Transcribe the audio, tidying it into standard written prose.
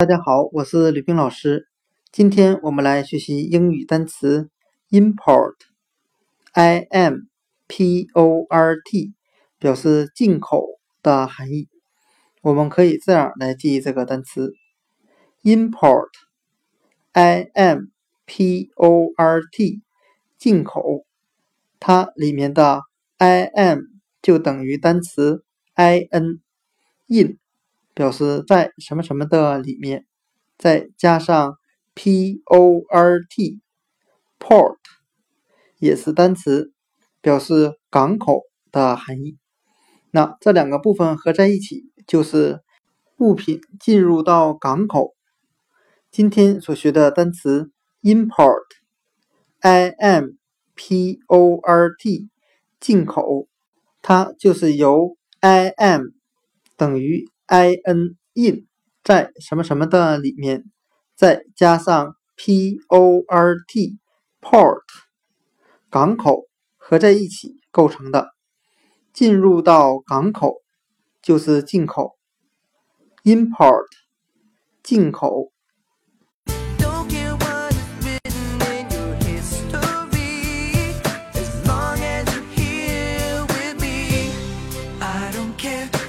大家好，我是吕冰老师。今天我们来学习英语单词 import，I-M-P-O-R-T， 表示进口的含义。我们可以这样来记忆这个单词 import，I-M-P-O-R-T， 进口，它里面的 I-M 就等于单词 in， 表示在什么什么的里面，再加上 port， port 也是单词，表示港口的含义。那这两个部分合在一起就是物品进入到港口。今天所学的单词 import， I-M-P-O-R-T， 进口，它就是由 I-M 等于 in， 在什么什么的里面，再加上 port， port 港口合在一起构成的。进入到港口就是进口 import， 进口。 I don't care